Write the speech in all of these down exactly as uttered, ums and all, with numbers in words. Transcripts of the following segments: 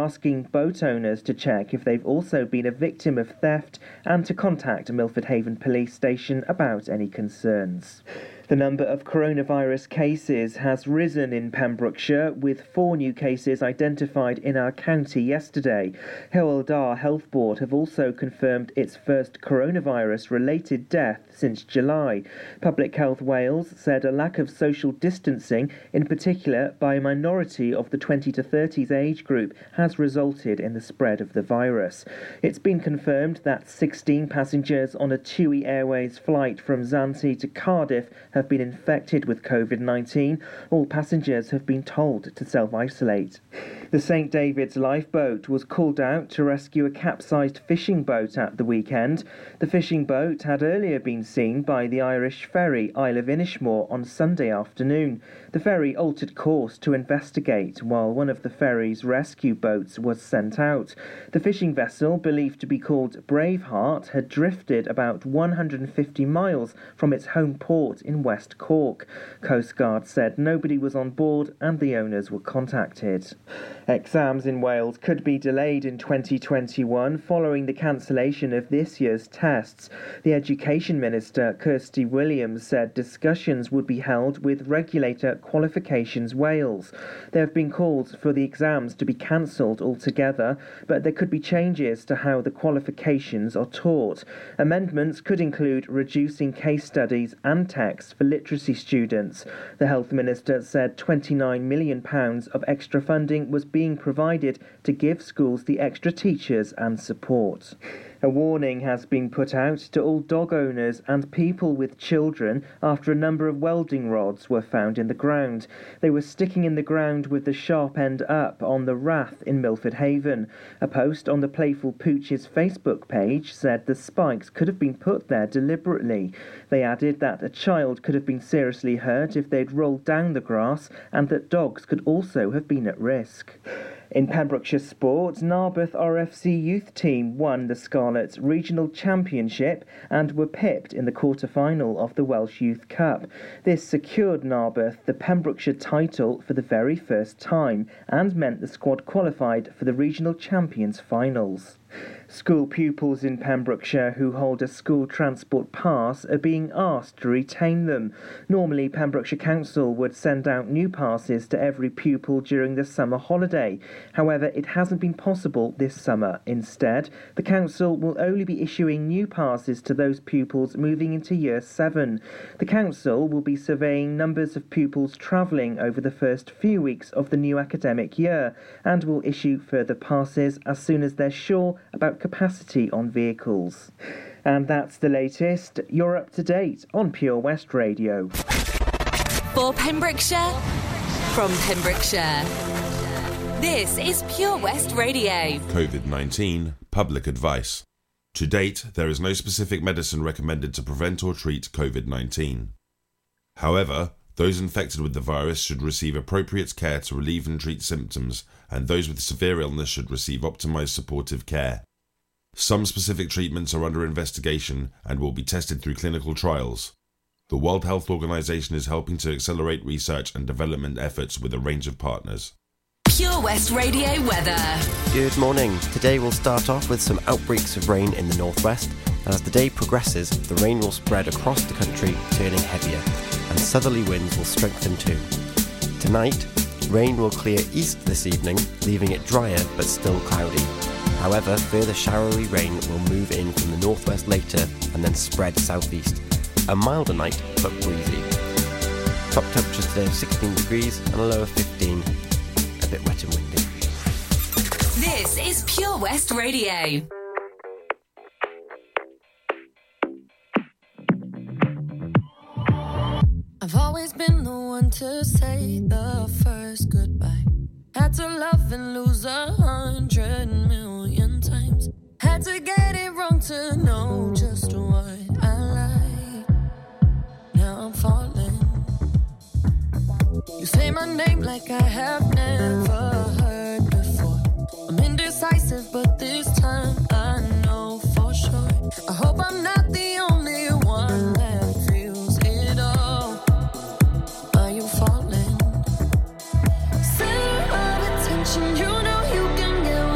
asking boat owners to check if they've also been a victim of theft and to contact Milford Haven Police Station about any concerns. The number of coronavirus cases has risen in Pembrokeshire, with four new cases identified in our county yesterday. Hywel Dda Health Board have also confirmed its first coronavirus-related death since July. Public Health Wales said a lack of social distancing, in particular by a minority of the twenty to thirties age group, has resulted in the spread of the virus. It's been confirmed that sixteen passengers on a TUI Airways flight from Zante to Cardiff have been infected with COVID nineteen. All passengers have been told to self-isolate. The Saint David's lifeboat was called out to rescue a capsized fishing boat at the weekend. The fishing boat had earlier been seen by the Irish ferry Isle of Inishmore on Sunday afternoon. The ferry altered course to investigate while one of the ferry's rescue boats was sent out. The fishing vessel, believed to be called Braveheart, had drifted about one hundred fifty miles from its home port in West Cork. Coast Guard said nobody was on board and the owners were contacted. Exams in Wales could be delayed in twenty twenty-one following the cancellation of this year's tests. The Education Minister, Kirsty Williams, said discussions would be held with regulator Qualifications Wales. There have been calls for the exams to be cancelled altogether, but there could be changes to how the qualifications are taught. Amendments could include reducing case studies and texts for literacy students. The Health Minister said twenty-nine million pounds of extra funding was being provided to give schools the extra teachers and support. A warning has been put out to all dog owners and people with children after a number of welding rods were found in the ground. They were sticking in the ground with the sharp end up on the Rath in Milford Haven. A post on the Playful Pooches Facebook page said the spikes could have been put there deliberately. They added that a child could have been seriously hurt if they'd rolled down the grass and that dogs could also have been at risk. In Pembrokeshire sport, Narberth R F C youth team won the Scarlets Regional Championship and were pipped in the quarter-final of the Welsh Youth Cup. This secured Narberth the Pembrokeshire title for the very first time and meant the squad qualified for the Regional Champions finals. School pupils in Pembrokeshire who hold a school transport pass are being asked to retain them. Normally, Pembrokeshire Council would send out new passes to every pupil during the summer holiday. However, it hasn't been possible this summer. Instead, the council will only be issuing new passes to those pupils moving into Year seven. The council will be surveying numbers of pupils travelling over the first few weeks of the new academic year and will issue further passes as soon as they're sure about capacity on vehicles. And that's the latest. You're up to date on Pure West Radio. For Pembrokeshire, from Pembrokeshire, this is Pure West Radio. COVID nineteen public advice. To date, there is no specific medicine recommended to prevent or treat COVID nineteen. However, those infected with the virus should receive appropriate care to relieve and treat symptoms, and those with severe illness should receive optimised supportive care. Some specific treatments are under investigation and will be tested through clinical trials. The World Health Organization is helping to accelerate research and development efforts with a range of partners. Pure West Radio weather. Good morning. Today we'll start off with some outbreaks of rain in the northwest, and as the day progresses, the rain will spread across the country, turning heavier, and southerly winds will strengthen too. Tonight, rain will clear east this evening, leaving it drier but still cloudy. However, further showery rain will move in from the northwest later and then spread southeast. A milder night, but breezy. Top temperatures today of sixteen degrees and a low of fifteen. A bit wet and windy. This is Pure West Radio. I've always been the one to say the first goodbye. Had to love and lose a hundred million times. Had to get it wrong to know just what I like. Now I'm falling. You say my name like I have never heard before. I'm indecisive, but this time I know for sure. I hope I'm not the only one that feels it all. Are you falling? Center of attention, you know you can get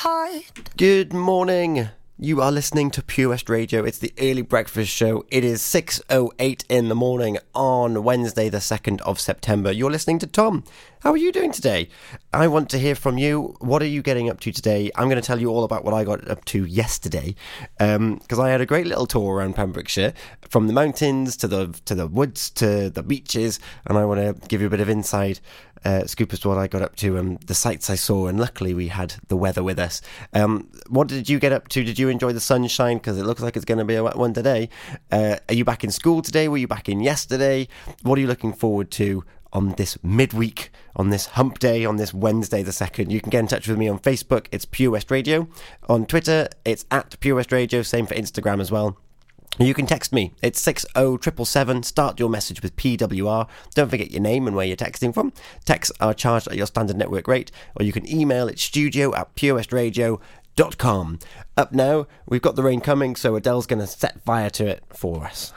heart. Good morning. You are listening to Pure West Radio. It's the early breakfast show. It is six oh eight in the morning on Wednesday, the second of September. You're listening to Tom. How are you doing today? I want to hear from you. What are you getting up to today? I'm going to tell you all about what I got up to yesterday, because um, I had a great little tour around Pembrokeshire, from the mountains to the to the woods to the beaches, and I want to give you a bit of inside uh, scoop as to what I got up to and the sights I saw. And luckily, we had the weather with us. Um, what did you get up to? Did you enjoy the sunshine? Because it looks like it's going to be a wet one today. Uh, are you back in school today? Were you back in yesterday? What are you looking forward to on this midweek, on this hump day, on this Wednesday the second? You can get in touch with me on Facebook. It's Pure West Radio. On Twitter, it's at Pure West Radio. Same for Instagram as well. You can text me. It's six oh seven seven. Start your message with P W R. Don't forget your name and where you're texting from. Texts are charged at your standard network rate, or you can email it studio at purewestradio dot com. Up now, we've got the rain coming, so Adele's going to set fire to it for us.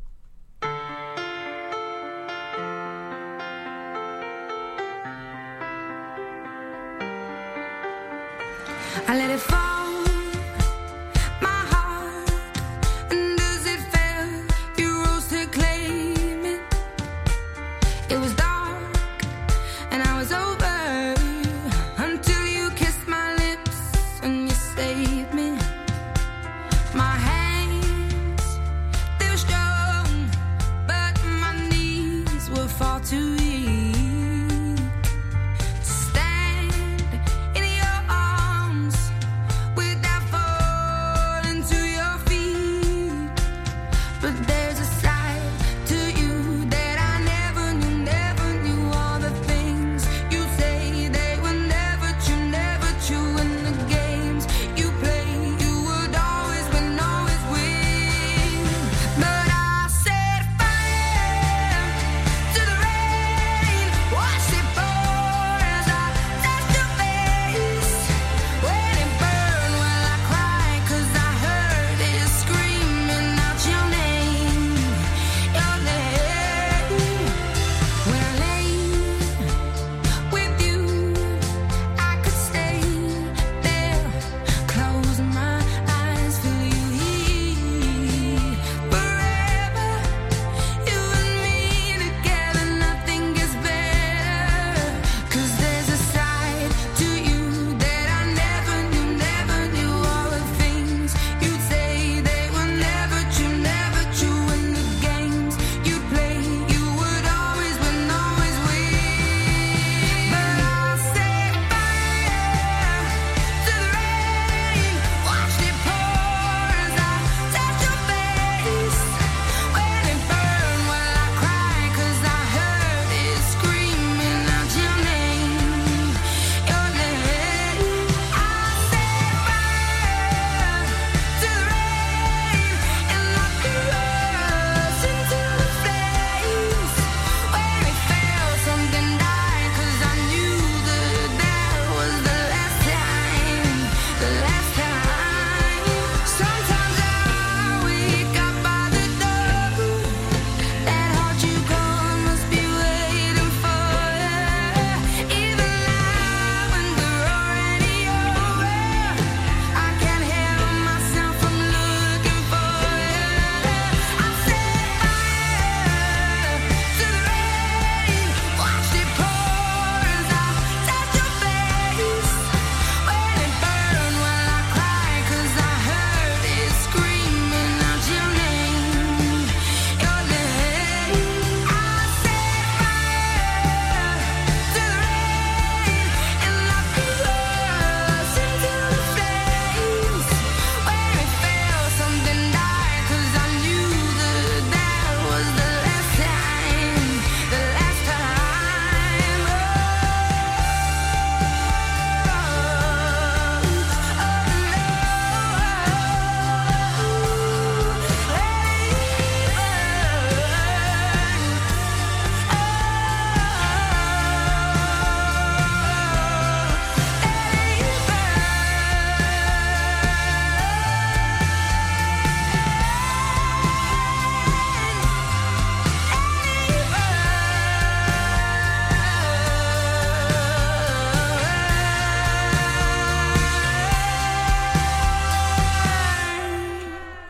I let it fall, my heart, and as it fell, you rose to claim it. It was dark, and I was over, until you kissed my lips, and you saved me. My hands, they were strong, but my knees were far too weak.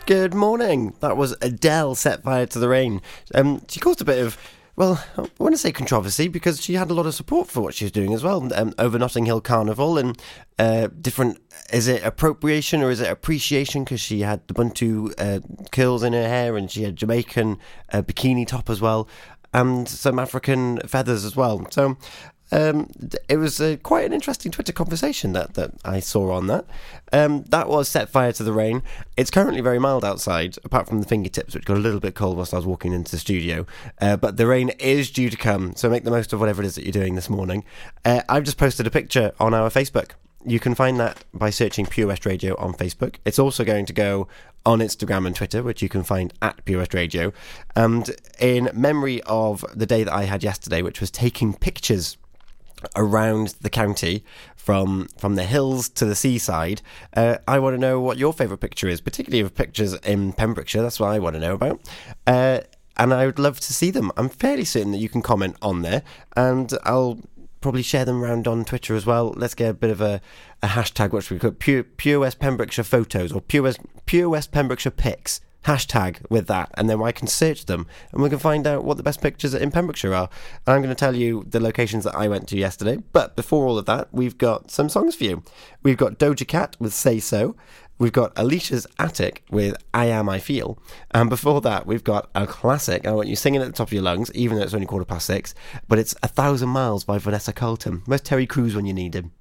Good morning. That was Adele, Set Fire to the Rain. Um, she caused a bit of, well, I want to say controversy because she had a lot of support for what she was doing as well um, over Notting Hill Carnival and uh, different, is it appropriation or is it appreciation, because she had the Bantu uh, curls in her hair and she had Jamaican uh, bikini top as well and some African feathers as well. So Um, it was uh, quite an interesting Twitter conversation that, that I saw on that. Um, that was Set Fire to the Rain. It's currently very mild outside, apart from the fingertips, which got a little bit cold whilst I was walking into the studio. Uh, but the rain is due to come, so make the most of whatever it is that you're doing this morning. Uh, I've just posted a picture on our Facebook. You can find that by searching Pure West Radio on Facebook. It's also going to go on Instagram and Twitter, which you can find at Pure West Radio. And in memory of the day that I had yesterday, which was taking pictures around the county from from the hills to the seaside, uh, I want to know what your favourite picture is, particularly of pictures in Pembrokeshire. That's what I want to know about. Uh, and I would love to see them. I'm fairly certain that you can comment on there, and I'll probably share them around on Twitter as well. Let's get a bit of a, a hashtag, what should we call it? Pure, Pure West Pembrokeshire photos, or Pure West, Pure West Pembrokeshire pics. Hashtag with that, and then I can search them and we can find out what the best pictures in Pembrokeshire are. And I'm going to tell you the locations that I went to yesterday. But before all of that, we've got some songs for you. We've got Doja Cat with Say So. We've got Alicia's Attic with I Am I Feel. And before that, we've got a classic. I want you singing at the top of your lungs, even though it's only quarter past six. But it's A Thousand Miles by Vanessa Carlton. Where's Terry Crews when you need him?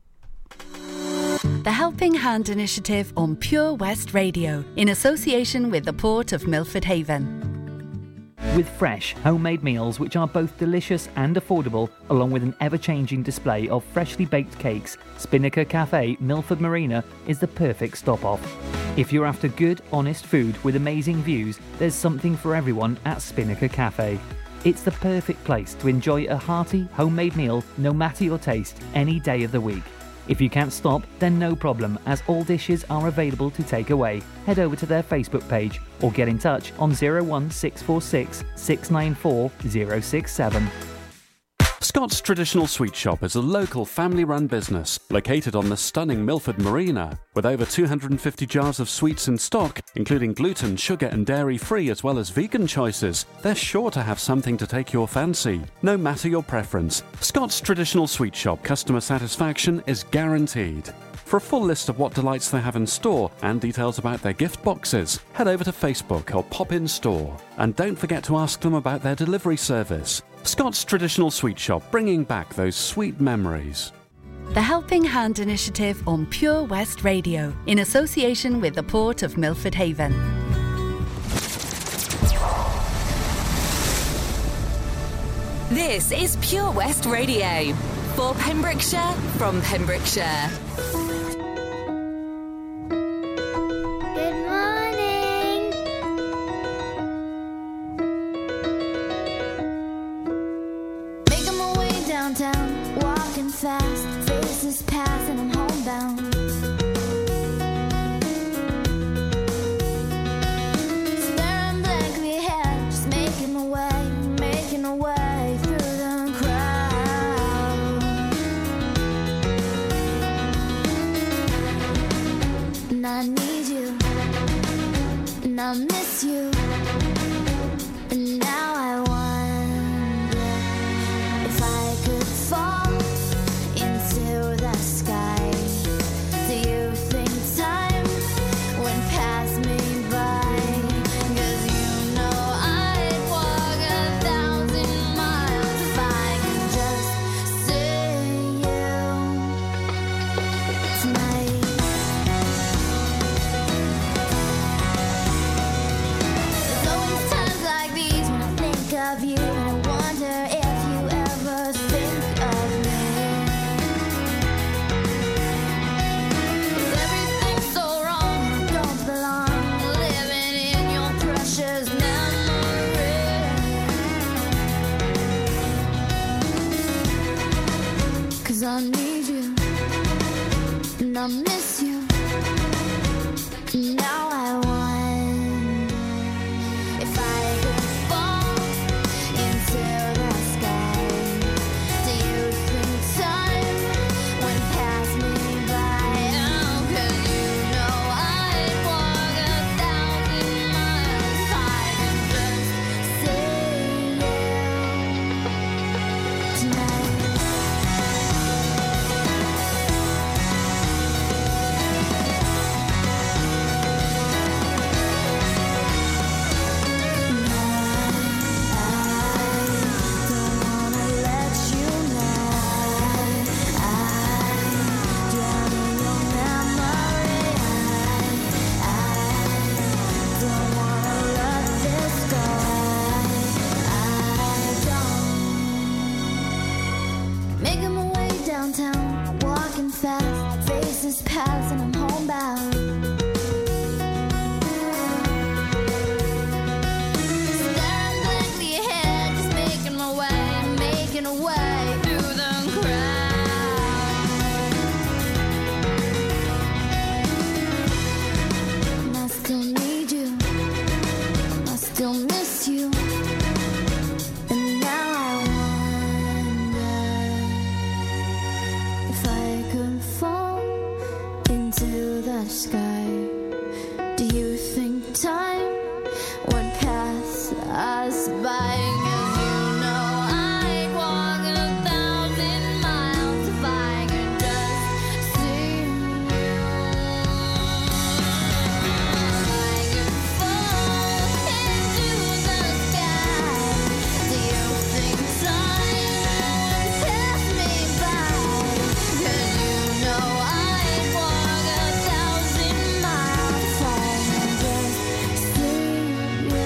The Helping Hand Initiative on Pure West Radio, in association with the Port of Milford Haven. With fresh, homemade meals which are both delicious and affordable, along with an ever-changing display of freshly baked cakes, Spinnaker Cafe, Milford Marina is the perfect stop-off. If you're after good, honest food with amazing views, there's something for everyone at Spinnaker Cafe. It's the perfect place to enjoy a hearty, homemade meal, no matter your taste, any day of the week. If you can't stop, then no problem, as all dishes are available to take away. Head over to their Facebook page or get in touch on zero one six four six, six nine four, zero six seven. Scott's Traditional Sweet Shop is a local family-run business located on the stunning Milford Marina. With over two hundred fifty jars of sweets in stock, including gluten, sugar and dairy-free as well as vegan choices, they're sure to have something to take your fancy, no matter your preference. Scott's Traditional Sweet Shop customer satisfaction is guaranteed. For a full list of what delights they have in store and details about their gift boxes, head over to Facebook or pop in store. And don't forget to ask them about their delivery service. Scott's Traditional Sweet Shop, bringing back those sweet memories. The Helping Hand Initiative on Pure West Radio, in association with the Port of Milford Haven. This is Pure West Radio. For Pembrokeshire, from Pembrokeshire. Fast, faces pass and I'm homebound. Staring blankly ahead, just making my way, making my way through the crowd. And I need you, and I miss you, and now I wonder if I could fall into the sky. Do you think time went past me by? 'Cause you know I'd walk a thousand miles if I could just see you tonight. There's always times like these when I think of you, and I wonder if you ever think of me. I need you, and I miss you. Now I wonder if I could fall into the sky. Do you think time went past me by? Oh, 'cause you know I'd walk a thousand fast, faces pass, and I'm homebound. Staring blankly ahead, just making my way, making a way through the crowd. And I still need you, I still miss you. And now I wonder if I could fall into the sky. Do you think time would pass us by? 'Cause you know I'd walk a thousand miles if I could just see you. I could fall into the sky. Do you think time would pass me by? 'Cause you know I'd walk a thousand miles if I could just see you.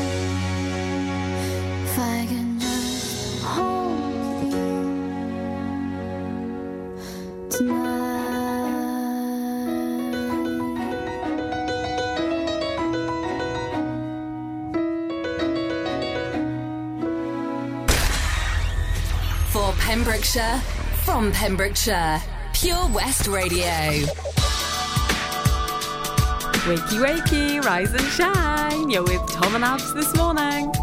If I can just hold you tonight. For Pembrokeshire, from Pembrokeshire, Pure West Radio. Wakey, wakey, rise and shine. You're with Tom and Abs this morning.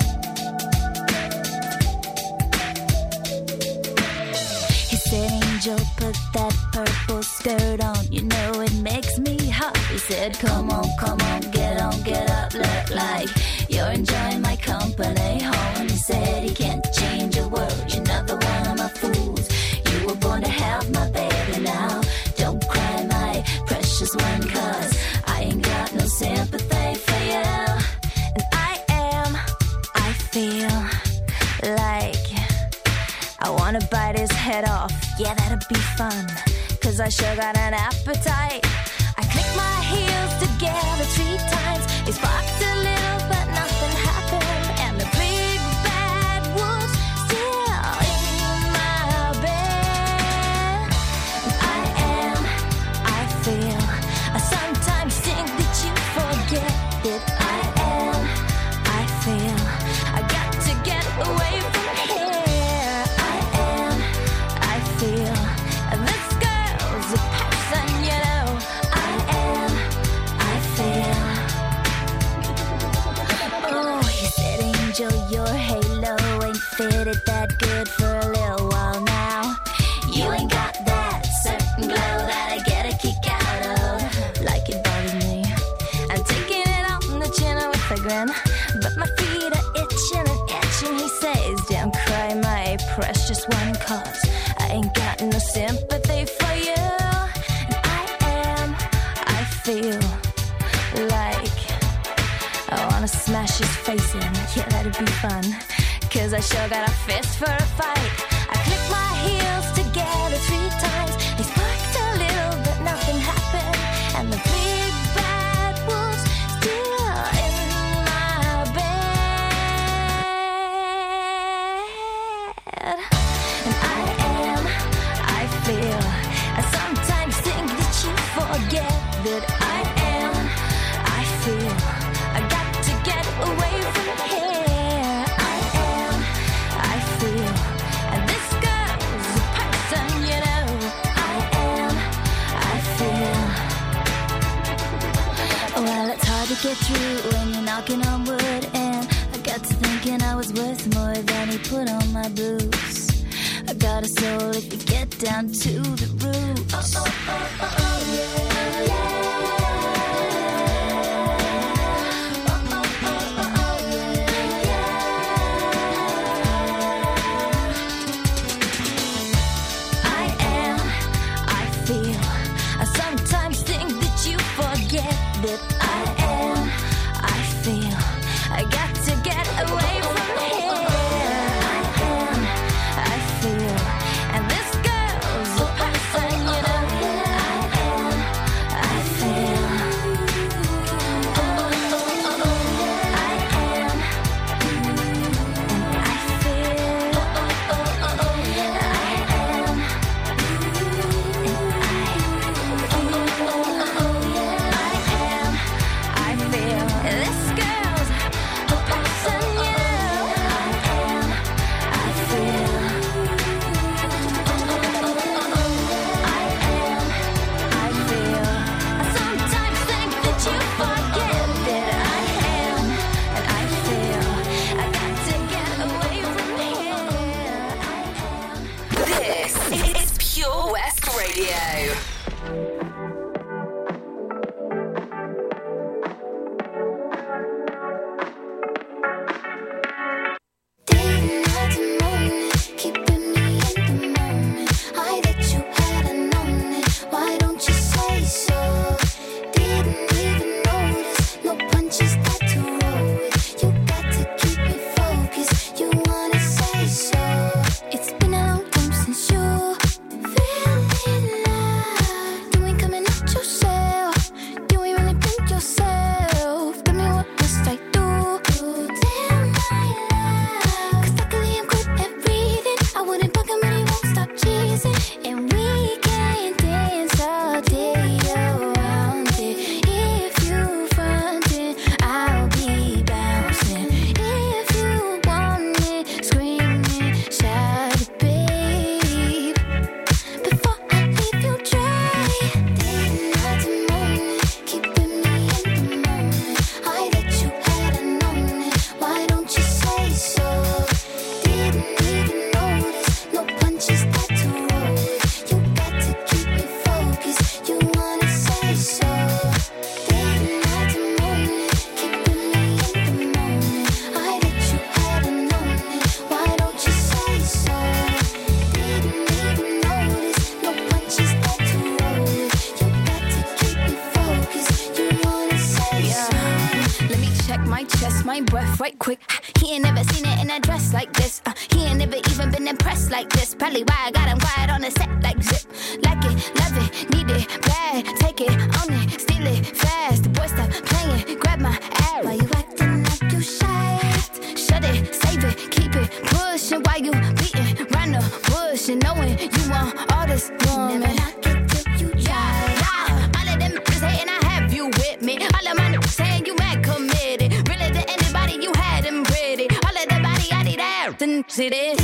He said, Angel, put that purple skirt on. You know it makes me hot. He said, come on, come on, get on, get up. Look like you're enjoying my company. Oh, and he said he can't change a word. You're another one of my fools. You were born to have my baby now. Don't cry, my precious one, 'cause I ain't got no sympathy for you. And I am, I feel like I wanna bite his head off. Yeah, that'd be fun, 'cause I sure got an appetite. I click my heels together three times. It sparked a little, but nothing happened. And the big bad wolf's still in my bed. And I am, I feel, I sometimes think that you forget that I am, I feel, I got to get away from here. I am, I feel, and this girl's a person, you know. I am, I feel. Oh, he said, Angel, your halo ain't fitted that good for a little while now. You ain't got that certain glow that I get a kick out of. Like it bothers me. I'm taking it out on the chin with a grin, but my feet are itching and itching. He says, don't cry, my precious one, 'cause I ain't got no sympathy for you. And I am, I feel like I wanna smash his face in. Yeah, that'd be fun, 'cause I sure got a fist for a fight. I click my heels together three times. They sparked a little, but nothing happened. And the big bad wolf's still in my bed. And I am, I feel, I sometimes think that you forget that I am, I feel, I got to get away from here. I am, I feel, and this girl's a person, you know. I am, I feel. Well, it's hard to get through when you're knocking on wood, and I got to thinking I was worth more than he put on my boots. I got a soul if you get down to the roots. Oh, oh, oh, oh, oh, yeah, yeah. Oh, oh, oh, oh, oh, yeah, yeah. I am, I feel, I sometimes think that you forget that I am, I feel, I got to get away from here. I am, I feel, and this girl's a person, you know. I am, my breath right quick. He ain't never seen it in a dress like this. Uh, he ain't never even been impressed like this. Probably why I got him quiet on the set like zip. Like it, love it, need it, bad. Take it, own it, steal it, fast. The boy stop playing, grab my ass. Why you acting like you shy? Shut it, save it, keep it pushing. Why you beating round the bush and knowing you want all this woman? Never knock it till you try. Yeah. All of them niggas hating, I have you with me. All of my niggas saying you mad committed. Really to anybody you had them pretty. All of the body I need out and see this.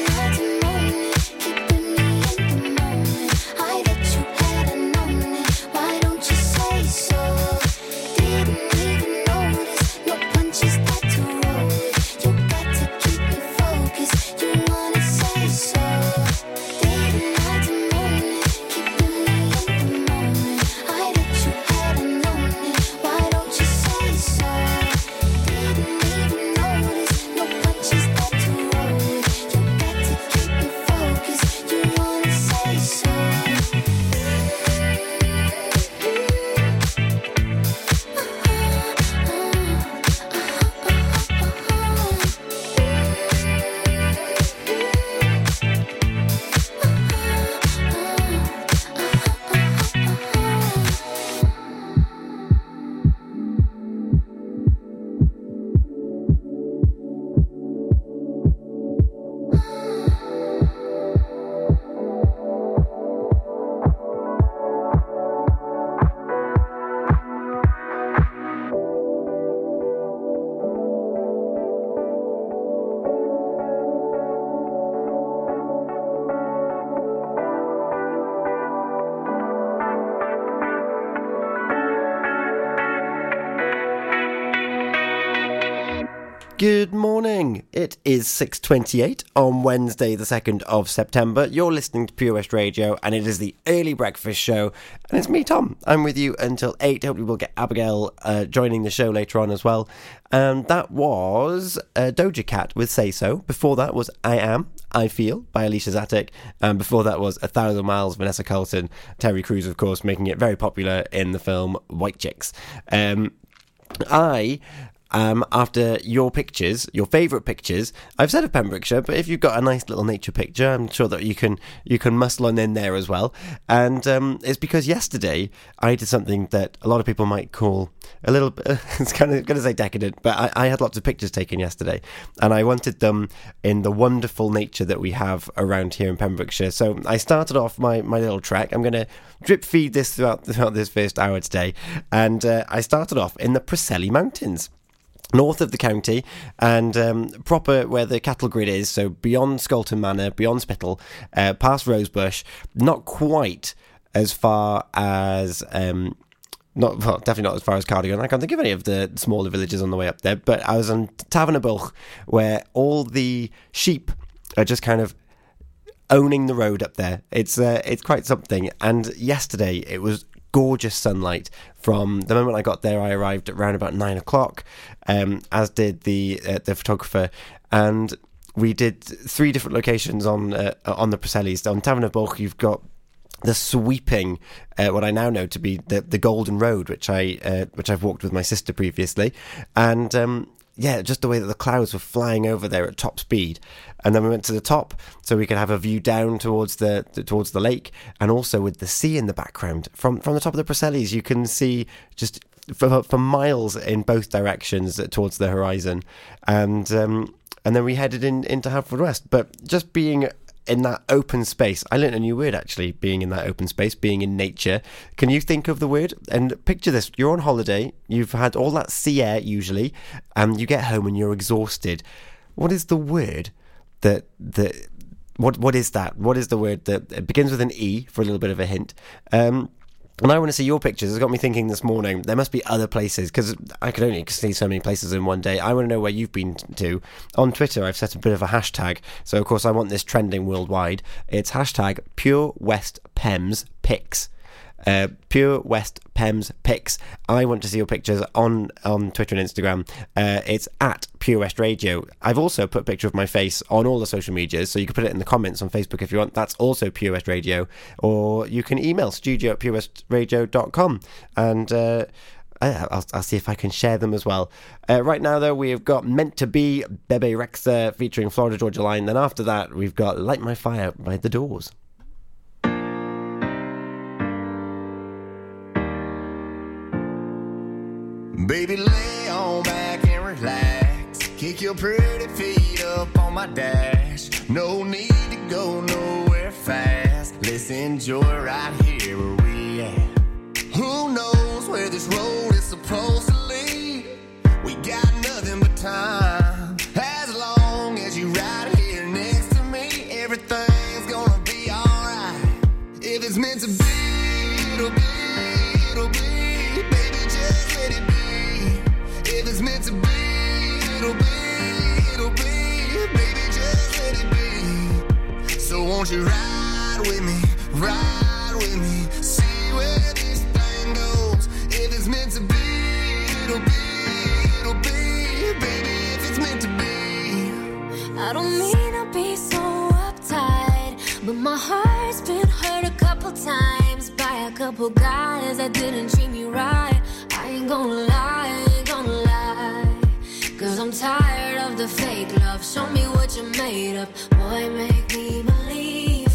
Good morning. It is six twenty-eight on Wednesday the second of September. You're listening to Pure West Radio and it is the early breakfast show and it's me, Tom. I'm with you until eight. Hopefully we'll get Abigail uh, joining the show later on as well. And that was uh, Doja Cat with Say So. Before that was I Am, I Feel by Alicia Zatek. And before that was A Thousand Miles, Vanessa Carlton. Terry Crews, of course, making it very popular in the film White Chicks. Um, I... Um, after your pictures, your favourite pictures, I've said of Pembrokeshire, but if you've got a nice little nature picture, I'm sure that you can you can muscle on in there as well. And um, it's because yesterday I did something that a lot of people might call a little bit, it's kind of going to say decadent, but I, I had lots of pictures taken yesterday, and I wanted them in the wonderful nature that we have around here in Pembrokeshire. So I started off my, my little trek. I'm going to drip feed this throughout, throughout this first hour today, and uh, I started off in the Preseli Mountains, north of the county, and um, proper where the cattle grid is, so beyond Scolton Manor, beyond Spittal, uh, past Rosebush, not quite as far as... Um, Not well, definitely not as far as Cardigan. I can't think of any of the smaller villages on the way up there, but I was on Tavernabilch, where all the sheep are just kind of owning the road up there. It's uh, it's quite something. And yesterday it was gorgeous sunlight. From the moment I got there, I arrived at around about nine o'clock, um, as did the uh, the photographer, and we did three different locations on uh, on the Preselis. On Tavernabilch, you've got the sweeping, uh, what I now know to be the, the Golden Road, which I uh, which I've walked with my sister previously, and um, yeah, just the way that the clouds were flying over there at top speed. And then we went to the top, so we could have a view down towards the towards the lake, and also with the sea in the background. From from the top of the Preselis, you can see just for, for miles in both directions towards the horizon, and um, and then we headed in into Haverfordwest. But just being in that open space, I learned a new word actually, being in that open space, being in nature. Can you think of the word? And picture this, you're on holiday, you've had all that sea air usually, and you get home and you're exhausted. What is the word that, that what what is that? What is the word that it begins with an E, for a little bit of a hint? Um, and I want to see your pictures. It's got me thinking this morning, there must be other places, because I could only see so many places in one day. I want to know where you've been to. On Twitter, I've set a bit of a hashtag, so of course I want this trending worldwide. It's hashtag Pure West Pems Pics. Uh, Pure West Pems Pics. I want to see your pictures on, on Twitter and Instagram. Uh, it's at Pure West Radio. I've also put a picture of my face on all the social medias, so you can put it in the comments on Facebook if you want. That's also Pure West Radio. Or you can email studio at pure west radio dot com. And uh, I, I'll, I'll see if I can share them as well. Uh, right now, though, we have got Meant to Be, Bebe Rexha featuring Florida Georgia Line. Then after that, we've got Light My Fire by The Doors. Baby, lay on back and relax. Kick your pretty feet up on my dash. No need to go nowhere fast. Let's enjoy right here where we at. Who knows where this road is supposed to lead? We got nothing but time. As long as you right here next to me, everything's gonna be alright. If it's meant to be, it'll be, it'll be. Baby, just let it be. If it's meant to be, it'll be, it'll be. Baby, just let it be. So won't you ride with me, ride with me, see where this thing goes. If it's meant to be, it'll be, it'll be. Baby, if it's meant to be. I don't mean to be so uptight, but my heart's been hurt a couple times by a couple guys that didn't treat me right. I ain't gonna lie, I ain't gonna lie, cause I'm tired of the fake love. Show me what you're made of, boy, make me believe.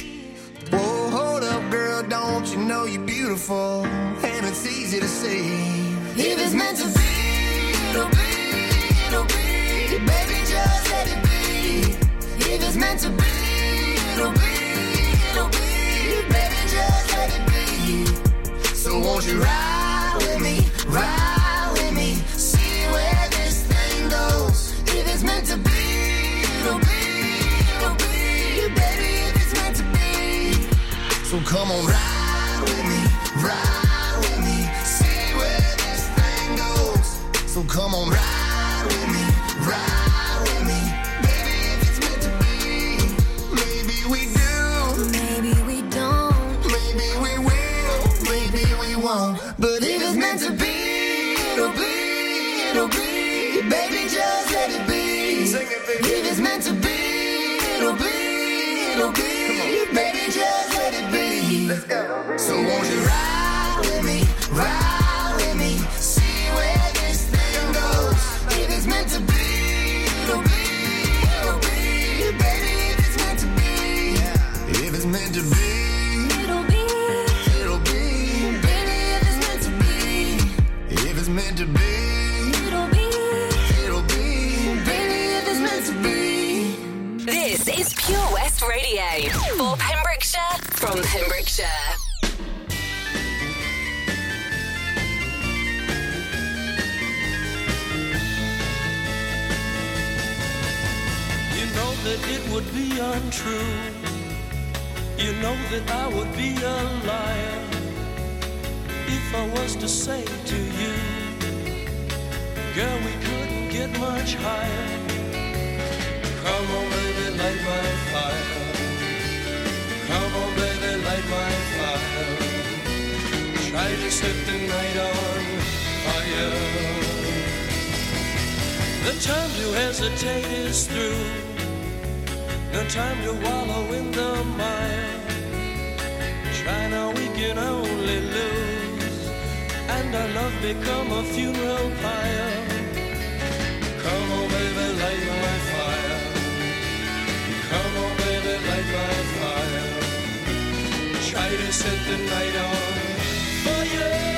Whoa, hold up, girl, don't you know you're beautiful? And it's easy to see. If it's meant to be, it'll be, it'll be. Baby, just let it be. If it's meant to be, it'll be, it'll be. Baby, just let it be. So won't you ride with me, ride with me, see where this thing goes. If it's meant to be, it'll be, it'll be. Baby, if it's meant to be. So come on, ride with me, ride with me, see where this thing goes. So come on, ride with me, ride with me, baby, if it's meant to be. Maybe we do, maybe we don't, maybe we will, maybe we won't. But if it's meant to be, it'll be, it'll be. Baby, just let it be. Sing it, baby. If it's meant to be, it'll be, it'll be. Baby, just let it be. Let's go. So won't you ride with me, ride with me, see where this thing goes. If it's meant to be, it'll be, it'll be. Baby, if it's meant to be, if it's meant to be, it'll be, it'll be. Baby, if it's meant to be, if it's meant to be, it'll be, it'll be. Baby, if it's meant to be. This is Pure West Radio for Pembrokeshire, from Pembrokeshire. You know that it would be untrue. You know that I would be a liar if I was to say to you, girl, we couldn't get much higher. Come on, baby, light my fire. Come on, baby, light my fire. Try to set the night on fire. The time to hesitate is through. No time to wallow in the mire. Try now, we can only lose, and our love become a funeral pyre. Come on, baby, light my fire. Come on, baby, light my fire. Try to set the night on fire.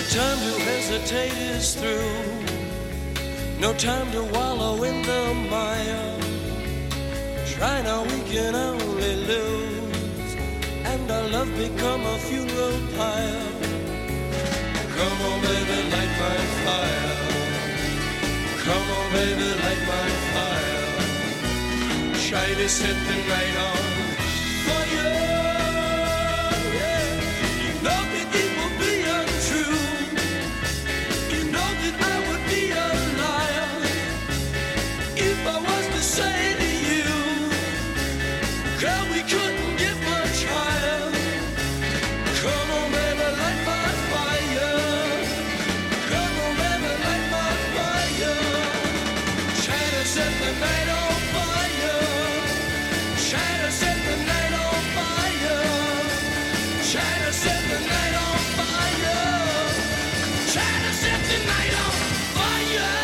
The time to hesitate is through. No time to wallow in the mire. Try now, we can only lose, and our love become a funeral pyre. Come on, baby, light my fire. Come on, baby, light my fire. Try to set the night on fire. Yeah. You know that it will be untrue. You know that I would be a liar if I was to say to you, girl, we couldn't get much higher. Come on, baby, light my fire. Come on, baby, light my fire. Try to set the night on fire. Try to set the night on fire. Try to set the night on fire. Try to set the night on fire.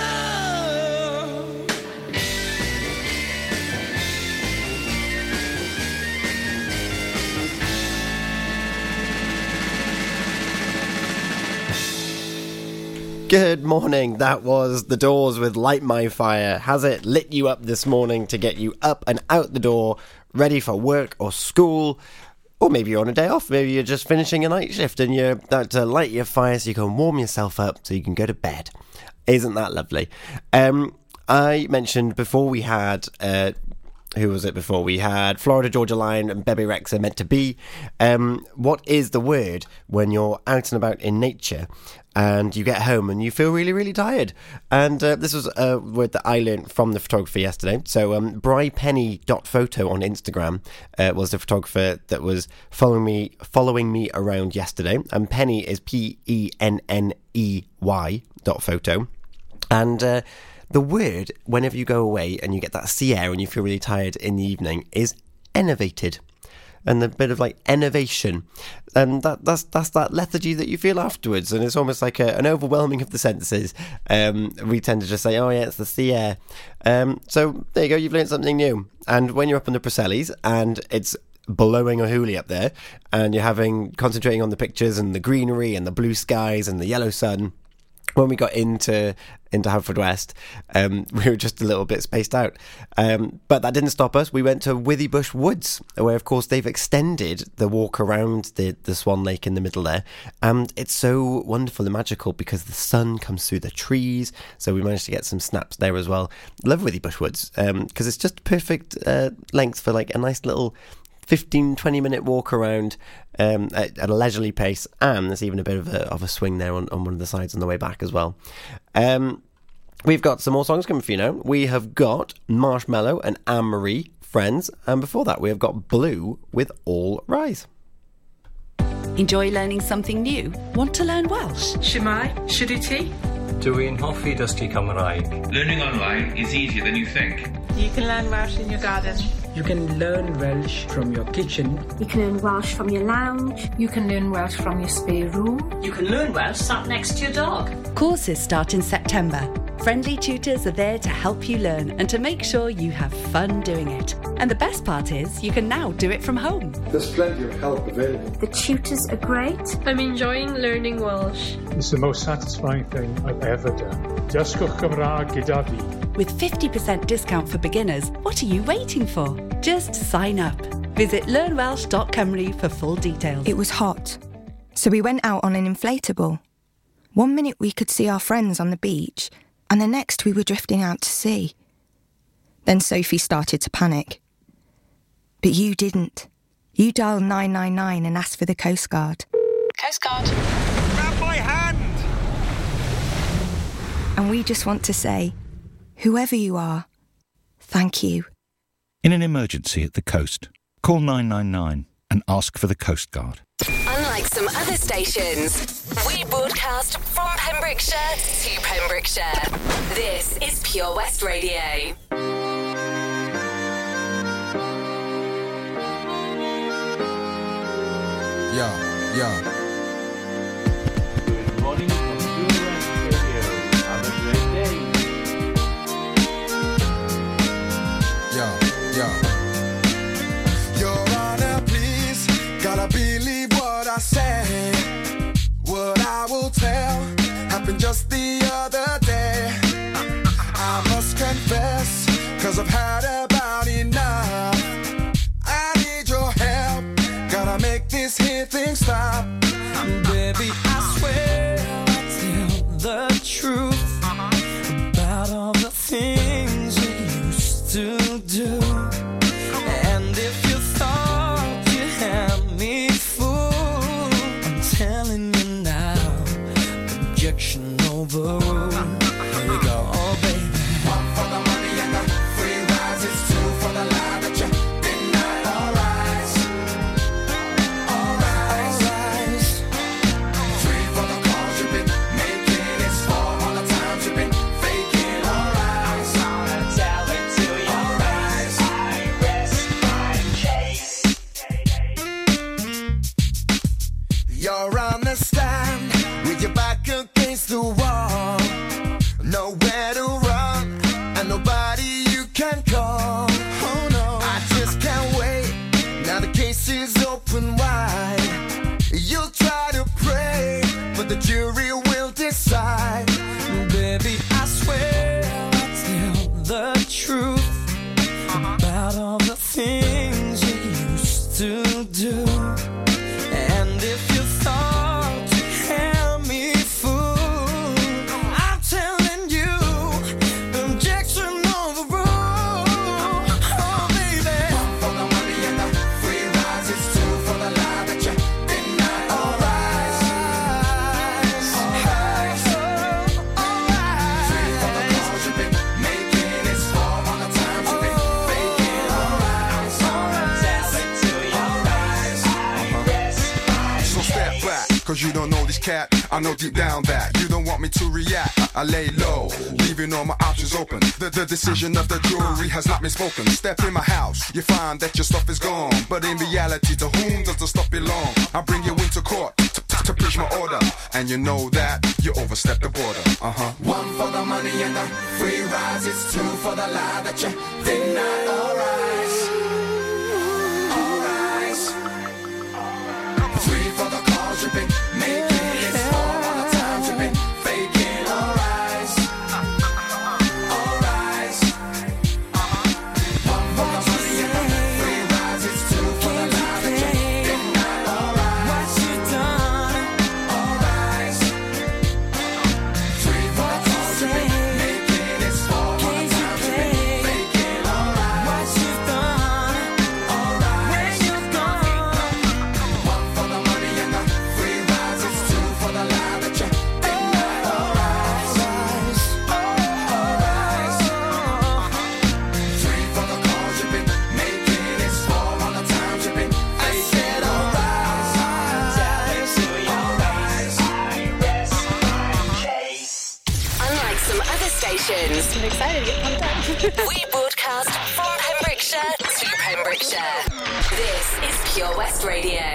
Good morning, that was The Doors with Light My Fire. Has it lit you up this morning to get you up and out the door, ready for work or school? Or maybe you're on a day off, maybe you're just finishing a night shift and you're about to light your fire so you can warm yourself up so you can go to bed. Isn't that lovely? Um, I mentioned before we had... Uh, Who was it before? We had Florida Georgia Line and Bebe Rexha Meant to Be. Um, what is the word when you're out and about in nature and you get home and you feel really, really tired? And uh, this was a word that I learned from the photographer yesterday. So um, brypenny.photo on Instagram uh, was the photographer that was following me following me around yesterday. And Penny is P E N N E Y dot photo. And... Uh, The word, whenever you go away and you get that sea air and you feel really tired in the evening, is enervated. And a bit of like enervation. And that, that's that's that lethargy that you feel afterwards. And it's almost like a, an overwhelming of the senses. Um, we tend to just say, oh yeah, it's the sea air. Um, so there you go, you've learned something new. And when you're up in the Preseli's and it's blowing a hoolie up there and you're having concentrating on the pictures and the greenery and the blue skies and the yellow sun, when we got into into Haverfordwest, um, we were just a little bit spaced out. Um, but that didn't stop us. We went to Withybush Woods, where, of course, they've extended the walk around the, the Swan Lake in the middle there. And it's so wonderful and magical because the sun comes through the trees. So we managed to get some snaps there as well. Love Withybush Woods because um, it's just perfect uh, length for like a nice little fifteen, twenty minute walk around um, at, at a leisurely pace, and there's even a bit of a, of a swing there on, on one of the sides on the way back as well. Um, we've got some more songs coming for you now. We have got Marshmallow and Anne-Marie, Friends, and before that we have got Blue with All Rise. Enjoy learning something new? Want to learn Welsh? Shemai, Shuduti? Dwi'n hoffi dysgu Cymraeg. Learning online is easier than you think. You can learn Welsh in your garden. You can learn Welsh from your kitchen. You can learn Welsh from your lounge. You can learn Welsh from your spare room. You can learn Welsh sat next to your dog. Courses start in September. Friendly tutors are there to help you learn and to make sure you have fun doing it. And the best part is you can now do it from home. There's plenty of help available. The tutors are great. I'm enjoying learning Welsh. It's the most satisfying thing I've ever done. Dysgwch Cymraeg gyda fi. With fifty percent discount for beginners, what are you waiting for? Just sign up. Visit learn welsh dot cymru for full details. It was hot, so we went out on an inflatable. One minute we could see our friends on the beach, and the next we were drifting out to sea. Then Sophie started to panic. But you didn't. You dialed nine nine nine and asked for the Coast Guard. Coast Guard. Grab my hand! And we just want to say, whoever you are, thank you. In an emergency at the coast, call nine nine nine and ask for the Coast Guard. Unlike some other stations, we broadcast from Pembrokeshire to Pembrokeshire. This is Pure West Radio. Yeah, yeah. Good morning from Pure West Radio. Have a great day. Yeah, yeah. Your Honor, please, gotta believe what I say. What I will tell happened just the other day. I must confess, cause I've had about enough. I need your help, gotta make this here thing stop. Baby, I swear I'll tell the truth about all the things you used to do. And if you thought you had me fooled, I'm telling you now, objection overruled. Here we go, oh baby. One for the money and the free rides, it's two for the lie that you deny. All rise, all rise, all rise. Three for the calls you've been making, it's four all the times you've been faking. All rise, I'm gonna tell it to you. All rise, I rest my case. You're on the stand with your back against the wall, nowhere to run and nobody you can call. Oh no, I just can't wait. Now the case is open wide. You'll try to pray, but the jury will decide. Baby, I swear I'll tell the truth about all the things you used to do. And if you thought you had me fooled, I'm telling you, objection overruled. Oh baby. One for the money and the free rides, it's two for the lie that you deny. All rise, all rise, all rise. Three for the calls you've been making, it's four all the times you've been faking. All rise, all rise, tell it to you. All rise, I rest my So step back, cause you don't know this cat. I know deep down that you don't want me to react. I, I lay low, leaving all my options open. The, the decision of the jury has not been spoken. Step in my house, you find that your stuff is gone. But in reality, to whom does the stuff belong? I bring you into court to, to, to preach my order. And you know that you overstepped the border. Uh-huh. one for the money and the free rides, it's two for the lie that you deny. All rise, all rise. Three for the calls you've been making, it's four all the times you've been faking. All rise, all rise. One for the money and the free rides, it's two for the lie that you deny. All rise, What you done? all rise. Three for the calls you've been making, it's four all the times you've been faking. All rise, What you done? all rise. Where you gone? One for the money and the free rides, it's two for the lie that you deny. All rise, all rise. Three for the calls you've been making, it's four all the times you've been faking. All rise, tell it to you. All rise, I rest my case. Unlike some other stations, I'm excited to get pumped up. we broadcast from Pembrokeshire to Pembrokeshire. This is Pure West Radio.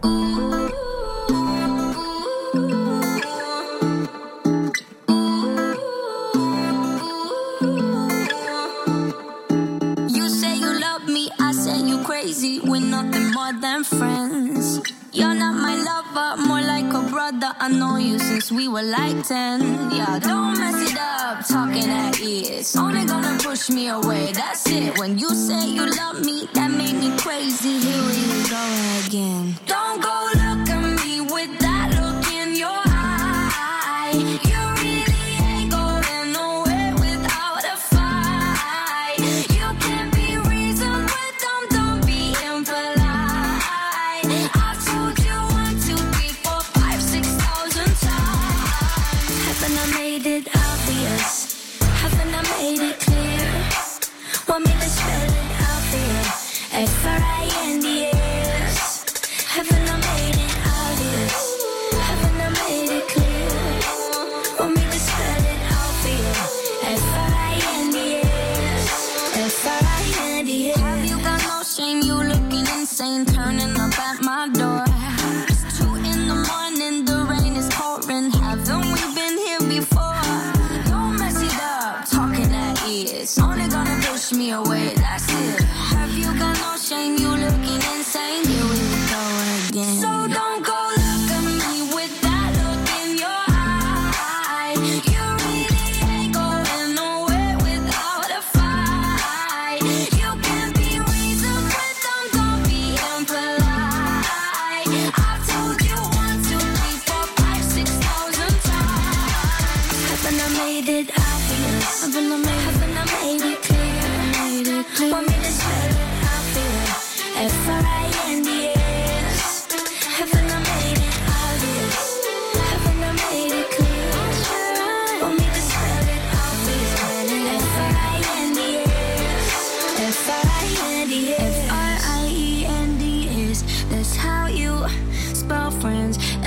You say you love me, I say you crazy. We're nothing more than friends. You're not my lover, more like a brother. I know you since we were like ten. Yeah, don't mess it up, talking at ears. Only gonna push me away, that's it. When you say you love me, that made me crazy. Here we go again. Don't go look at me with that look in your eye. You really ain't going nowhere without a fight. You can't be reasoned with them, don't be impolite. I've told you one, two, three, four, five, six thousand times. Haven't I made it obvious? Haven't I made it clear? Want me to spell it out for you? F R I N D S. Haven't I made it obvious? Haven't I made it clear? Want me to spell it out for you? F R I N D S. F R I N D S. Have you got no shame? You looking insane, turning up at my door. It's two in the morning, the rain is pouring. Haven't we been here before? Don't mess it up, talking at ears. Only gonna push me away, that's it. Have you got no shame? You looking insane. Here we go again. So don't go look at me with that look in your eye.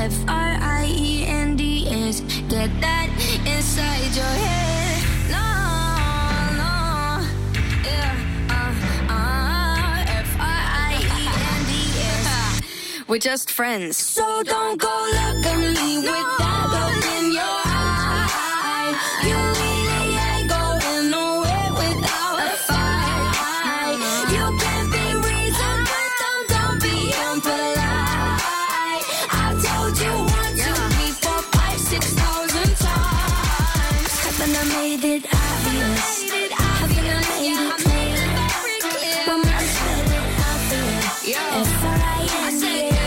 F R I E N D S. Get that inside your head. No, no, yeah, uh, uh, F R I E N D S. We're just friends. So don't go look at me with that look in your eye. You really ain't going nowhere without a fight. You can be reasoned, but don't, don't be impolite. I've told you one, two, three, four, five, six thousand times. Haven't I made it obvious? Haven't I made it clear? When I said it obvious, F R I N D S.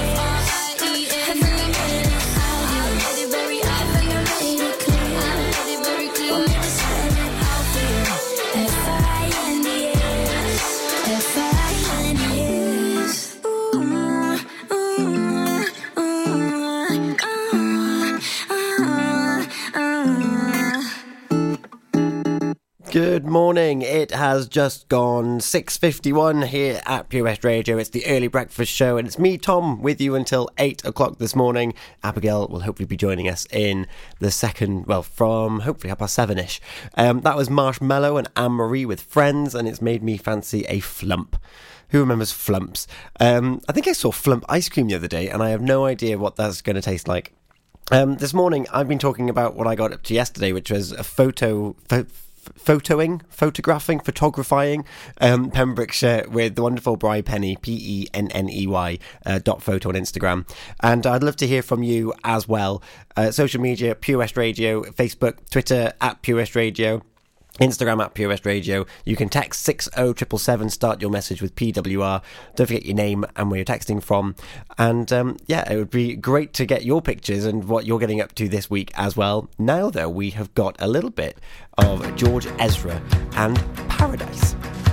Good morning. It has just gone six fifty-one here at Pure West Radio. It's the early breakfast show, and it's me, Tom, with you until eight o'clock this morning. Abigail will hopefully be joining us in the second, well, from hopefully half past seven-ish. Um, that was Marshmallow and Anne-Marie with Friends, and it's made me fancy a flump. Who remembers flumps? Um, I think I saw flump ice cream the other day, and I have no idea what that's going to taste like. Um, this morning, I've been talking about what I got up to yesterday, which was a photo... Fo- photoing, photographing, photographing um, Pembrokeshire with the wonderful Bri Penny, P E N N E Y, uh, dot photo on Instagram. And I'd love to hear from you as well. Uh, social media, Pure West Radio, Facebook, Twitter, at Pure West Radio, Instagram at Pure West Radio. You can text six oh seven seven, start your message with P W R. Don't forget your name and where you're texting from. And um, yeah, it would be great to get your pictures and what you're getting up to this week as well. Now, though, we have got a little bit of George Ezra and Paradise.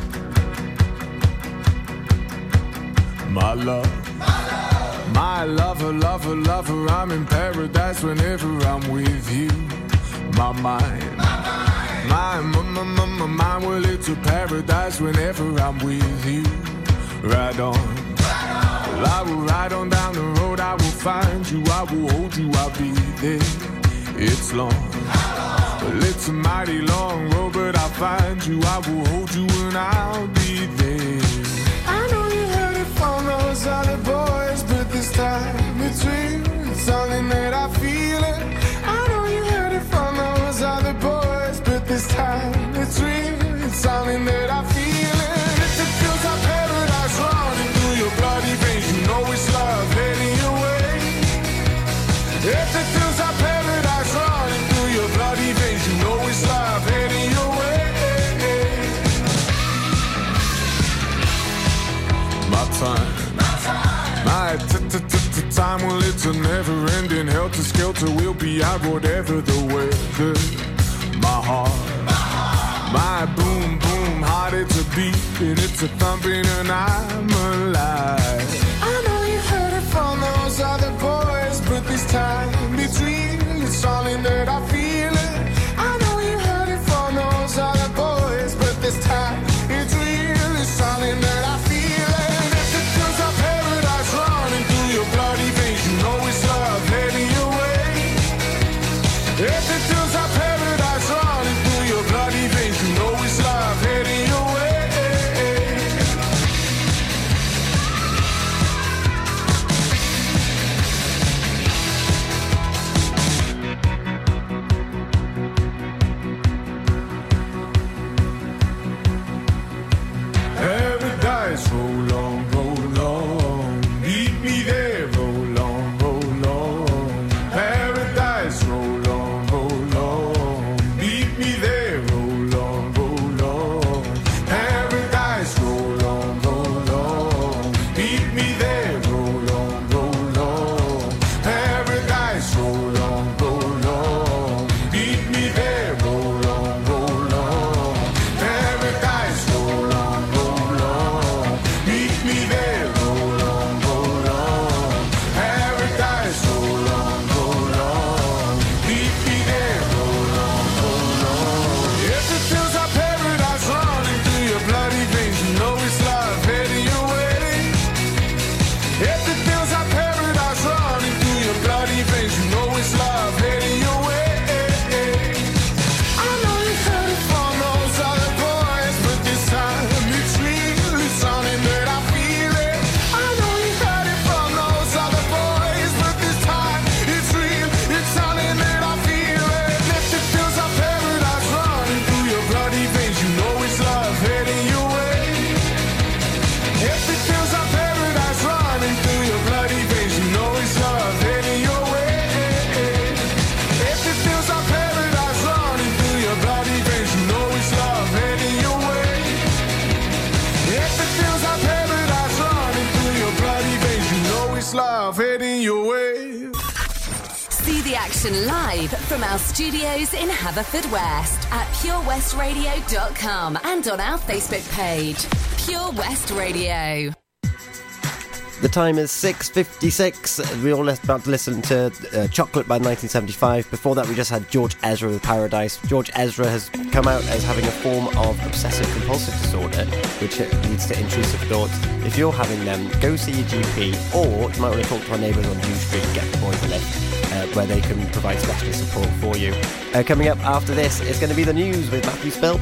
My love, my love, my lover, lover, lover, I'm in paradise whenever I'm with you. My mind, my mind, my, my, my, my mind, well, it's a paradise whenever I'm with you. Ride on, ride on. Well, I will ride on down the road, I will find you, I will hold you, I'll be there. It's long, well, it's a mighty long road, but I'll find you, I will hold you, and I'll be there. I know you heard it from those other boys, but this time it's real, it's something that I feel it. I know you heard it from those other boys, but this time it's real, it's something that I feel it. If it feels like paradise running through your bloody veins, you know it's love heading your way. If it feels like paradise running through your bloody veins, you know it's love heading your way. My time, my time, my t-t-t-t-time, well, it's a never-ending helter-skelter. We'll be out whatever the weather. My heart, my heart, my boom, boom, heart, it's a beat and it's a thumping, and I'm alive. I know you heard it from those other boys, but this time it's real, it's something that I feel it. I know you heard it from those other boys, but this time it's real, it's something that I feel it. If it feels like paradise running through your bloody veins, you know it's love heading your way. If it feels like paradise running through your bloody veins, you know it's love heading your way. Paradise, roll on, roll on. Meet me there, roll on, roll on. Paradise, roll on, roll on. Meet me there, roll on, roll on. Paradise, roll on, roll on. Meet me there, roll on, roll on. Paradise, roll on, roll on. Meet me there, roll on, roll on. Paradise, roll on, roll on. Meet me there, roll on, roll on. Paradise, roll on, roll on. Meet me there, roll on, roll on. If it feels like paradise running through your bloody veins, you know it's love heading your way. If it feels like paradise running through your bloody action live from our studios in Haverfordwest at pure west radio dot com and on our Facebook page, Pure West Radio. The time is six fifty-six. We're all about to listen to uh, Chocolate by nineteen seventy-five. Before that, we just had George Ezra with Paradise. George Ezra has come out as having a form of obsessive-compulsive disorder, which leads to intrusive thoughts. If you're having them, go see your G P, or you might want to talk to our neighbours on Hugh Street and get the boys a lift, uh, where they can provide specialist support for you. Uh, coming up after this is going to be the news with Matthew Spill.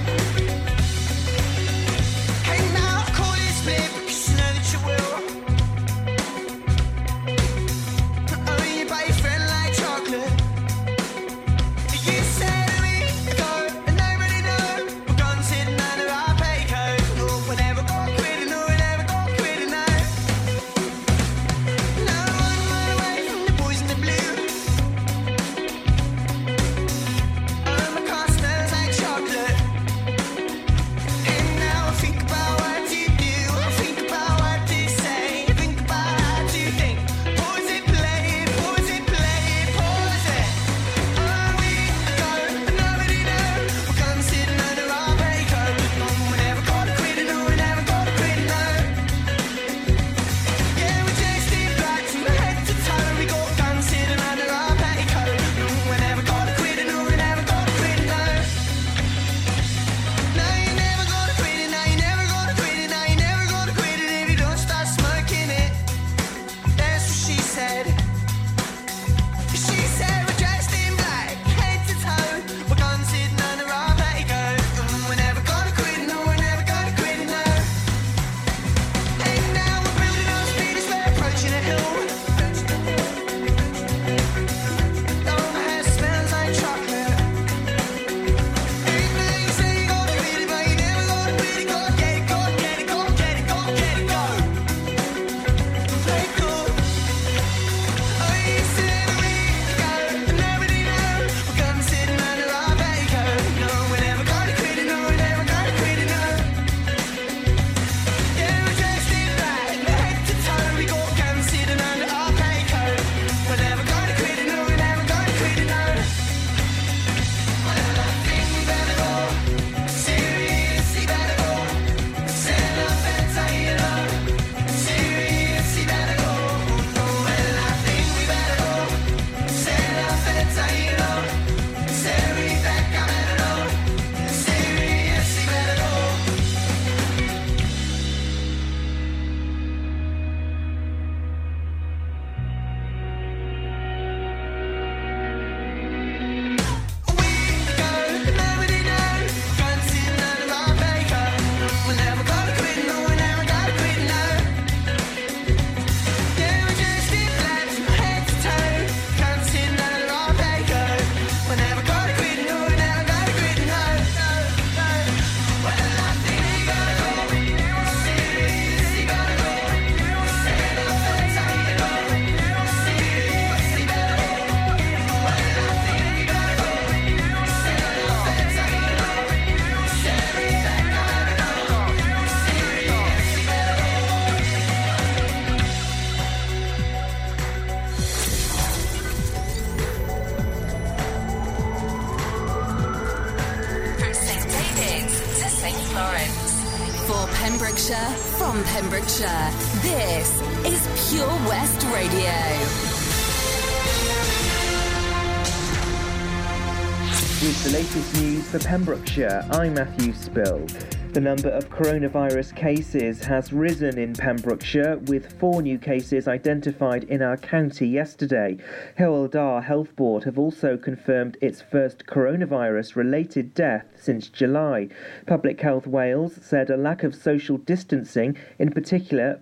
Pembrokeshire, from Pembrokeshire, this is Pure West Radio. With the latest news for Pembrokeshire, I'm Matthew Spill. The number of coronavirus cases has risen in Pembrokeshire, with four new cases identified in our county yesterday. Hywel Dda Health Board have also confirmed its first coronavirus-related death since July. Public Health Wales said a lack of social distancing, in particular